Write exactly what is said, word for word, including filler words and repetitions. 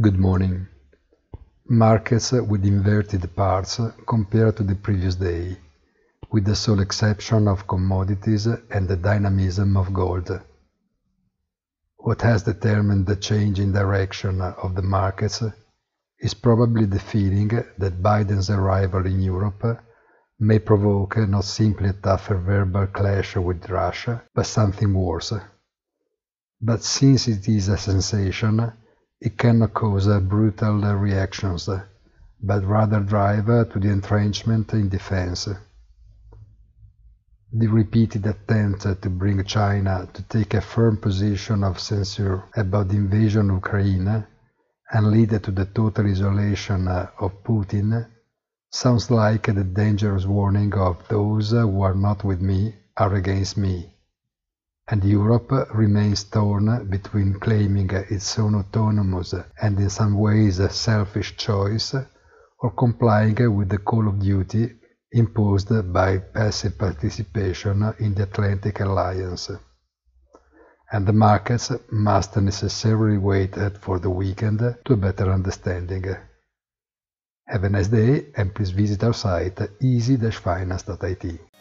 Good morning. Markets with inverted parts compared to the previous day, with the sole exception of commodities and the dynamism of gold. What has determined the change in direction of the markets is probably the feeling that Biden's arrival in Europe may provoke not simply a tougher verbal clash with Russia, but something worse. But since it is a sensation, it cannot cause brutal reactions, but rather drive to the entrenchment in defense. The repeated attempt to bring China to take a firm position of censure about the invasion of Ukraine and lead to the total isolation of Putin sounds like the dangerous warning of those who are not with me are against me. And Europe remains torn between claiming its own autonomous and in some ways selfish choice, or complying with the call of duty imposed by passive participation in the Atlantic Alliance. And the markets must necessarily wait for the weekend to a better understanding. Have a nice day, and please visit our site easy dash finance dot I T.